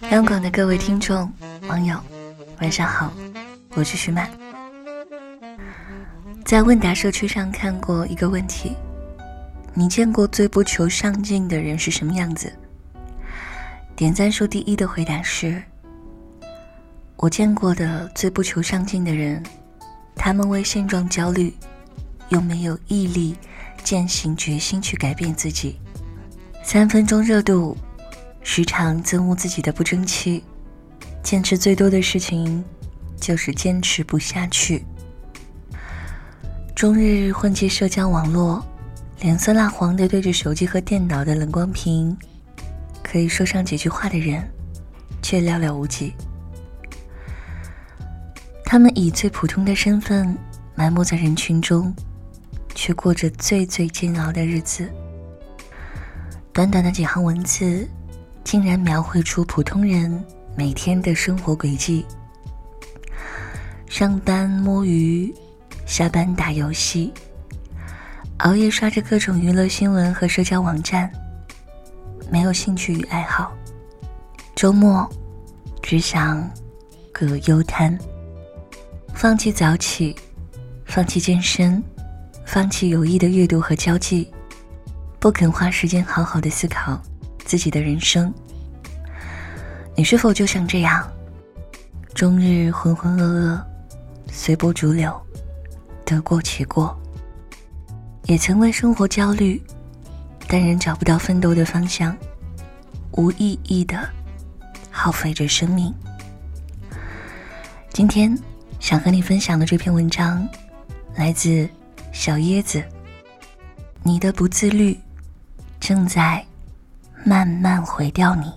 央广的各位听众网友晚上好，我是徐曼。在问答社区上看过一个问题，你见过最不求上进的人是什么样子？点赞数第一的回答是，我见过的最不求上进的人，他们为现状焦虑，又没有毅力践行决心去改变自己，3分钟热度，时常憎恶自己的不争气，坚持最多的事情就是坚持不下去，终日混迹社交网络，脸色蜡黄地对着手机和电脑的冷光屏，可以说上几句话的人却寥寥无几。他们以最普通的身份埋没在人群中，却过着最煎熬的日子。短短的几行文字竟然描绘出普通人每天的生活轨迹：上班摸鱼，下班打游戏，熬夜刷着各种娱乐新闻和社交网站，没有兴趣与爱好，周末只想葛优瘫，放弃早起，放弃健身，放弃有益的阅读和交际，不肯花时间好好的思考自己的人生。你是否就像这样，终日浑浑噩噩，随波逐流，得过且过？也曾为生活焦虑，但仍找不到奋斗的方向，无意义的耗费着生命。今天想和你分享的这篇文章来自小椰子，你的不自律正在慢慢毁掉你。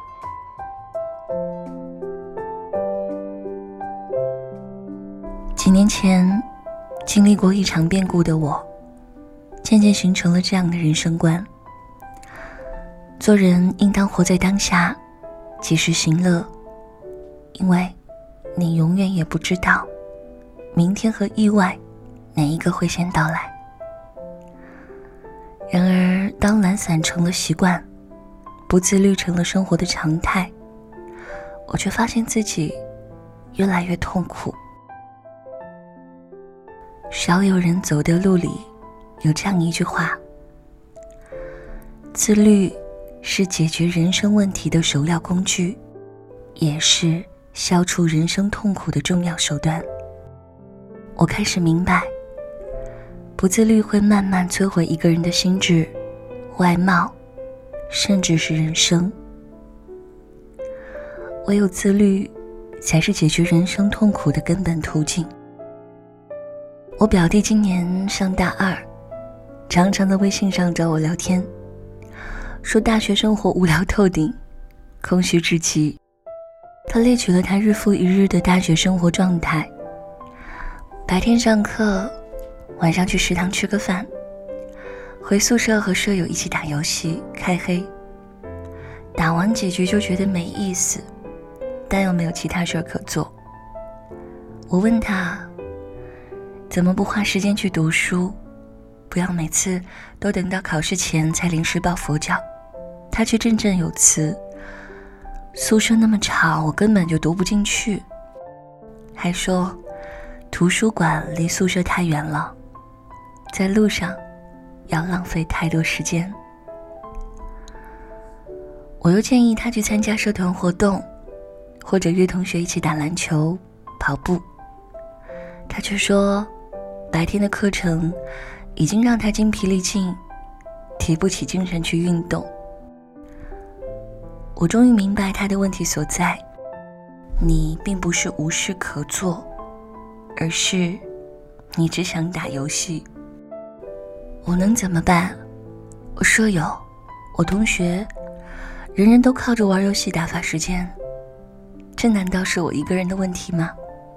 几年前经历过一场变故的我，渐渐形成了这样的人生观：做人应当活在当下，及时行乐，因为你永远也不知道明天和意外哪一个会先到来。然而当懒散成了习惯，不自律成了生活的常态，我却发现自己越来越痛苦。少有人走的路里有这样一句话：自律是解决人生问题的首要工具，也是消除人生痛苦的重要手段。我开始明白，不自律会慢慢摧毁一个人的心智、外貌，甚至是人生。唯有自律才是解决人生痛苦的根本途径。我表弟今年上大2，常常在微信上找我聊天，说大学生活无聊透顶，空虚至极。他列举了他日复一日的大学生活状态：白天上课，晚上去食堂吃个饭，回宿舍和舍友一起打游戏开黑，打完几局就觉得没意思，但又没有其他事可做。我问他怎么不花时间去读书，不要每次都等到考试前才临时抱佛脚。他却振振有词：宿舍那么吵，我根本就读不进去。还说图书馆离宿舍太远了，在路上要浪费太多时间。我又建议他去参加社团活动，或者约同学一起打篮球、跑步。他却说白天的课程已经让他精疲力尽，提不起精神去运动。我终于明白他的问题所在，你并不是无事可做，而是你只想打游戏。我能怎么办？我舍友，我同学，人人都靠着玩游戏打发时间，这难道是我一个人的问题吗？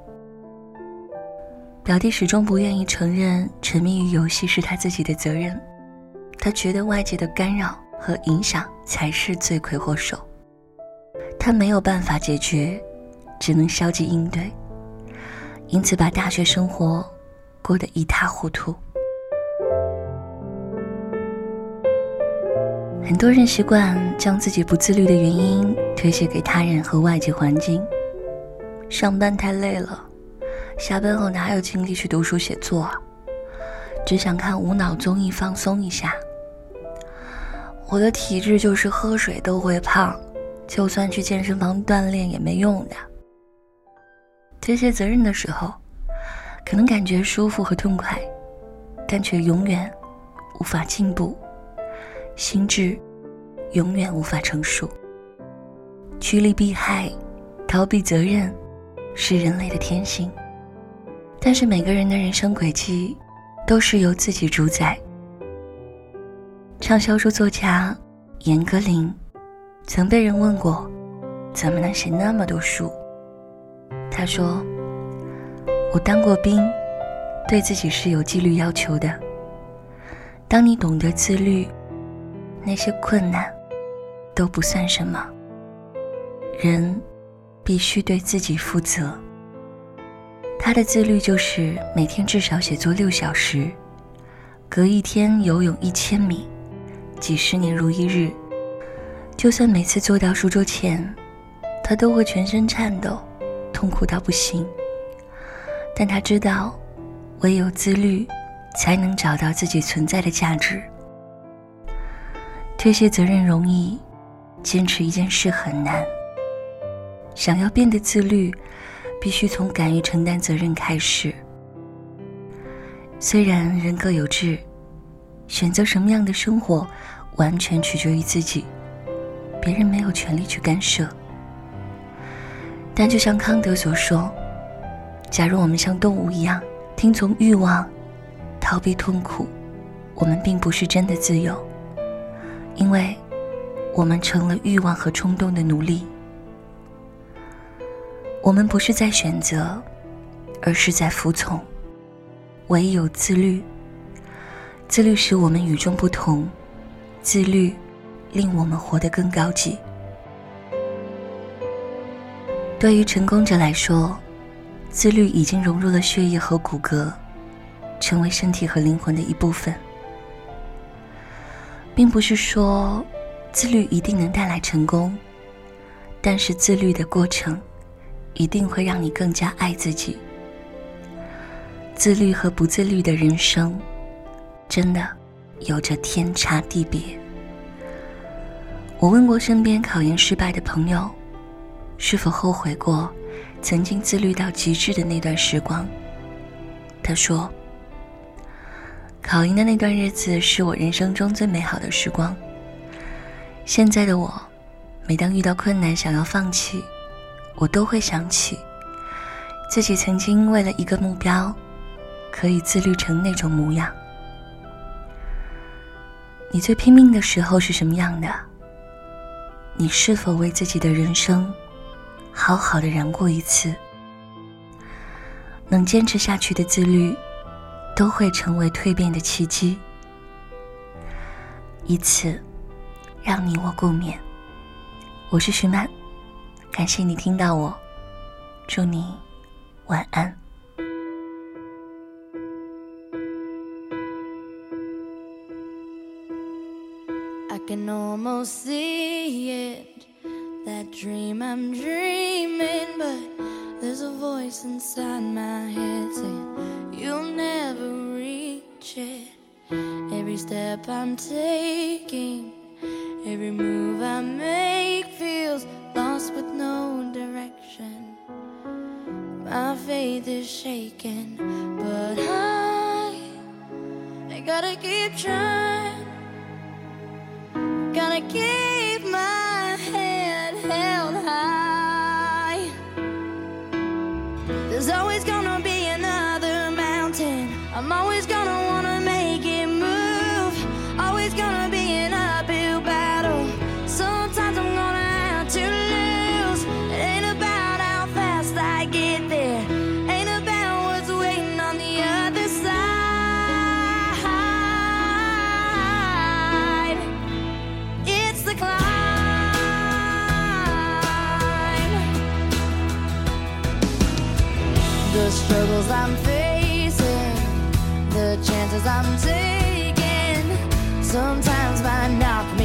表弟始终不愿意承认沉迷于游戏是他自己的责任，他觉得外界的干扰和影响才是罪魁祸首。他没有办法解决，只能消极应对，因此把大学生活过得一塌糊涂。 很多人习惯将自己不自律的原因推卸给他人和外界环境。上班太累了，下班后哪有精力去读书写作啊？只想看无脑综艺放松一下。我的体质就是喝水都会胖，就算去健身房锻炼也没用的。推卸责任的时候，可能感觉舒服和痛快，但却永远无法进步，心智永远无法成熟。趋利避害，逃避责任是人类的天性，但是每个人的人生轨迹都是由自己主宰。畅销书作家严歌苓曾被人问过，怎么能写那么多书？他说，我当过兵，对自己是有纪律要求的。当你懂得自律，那些困难都不算什么。人必须对自己负责。他的自律就是每天至少写作6小时，隔一天游泳1000米，几十年如一日。就算每次坐到书桌前，他都会全身颤抖，痛苦到不行。但他知道，唯有自律，才能找到自己存在的价值。推卸责任容易，坚持一件事很难。想要变得自律，必须从敢于承担责任开始。虽然人各有志，选择什么样的生活完全取决于自己，别人没有权利去干涉。但就像康德所说，假如我们像动物一样听从欲望，逃避痛苦，我们并不是真的自由，因为我们成了欲望和冲动的奴隶。我们不是在选择，而是在服从。唯有自律，自律使我们与众不同，自律令我们活得更高级。对于成功者来说，自律已经融入了血液和骨骼，成为身体和灵魂的一部分。并不是说自律一定能带来成功，但是自律的过程一定会让你更加爱自己。自律和不自律的人生，真的有着天差地别。我问过身边考研失败的朋友，是否后悔过曾经自律到极致的那段时光。他说，考研的那段日子是我人生中最美好的时光。现在的我，每当遇到困难想要放弃，我都会想起自己曾经为了一个目标，可以自律成那种模样。你最拼命的时候是什么样的？你是否为自己的人生好好的燃过一次？能坚持下去的自律，都会成为蜕变的契机，以此让你我共勉。我是徐曼，感谢你听到我，祝你晚安。 I can almost see it, that dream I'm dreaming, but there's a voice inside my head saying you'll never reach it. Every step I'm taking, every move I make feels lost with no direction. My faith is shaken, but I gotta keep trying. Gotta keep my head held high. There's always gonna be another mountain. I'm always gonna wanna make it move. Always gonna be an uphill battle. Sometimes I'm gonna have to lose. It ain't about how fast I get there, ain't about what's waiting on the other side. It's the climb. The struggles I'm facing, the chances I'm taking, sometimes might knock me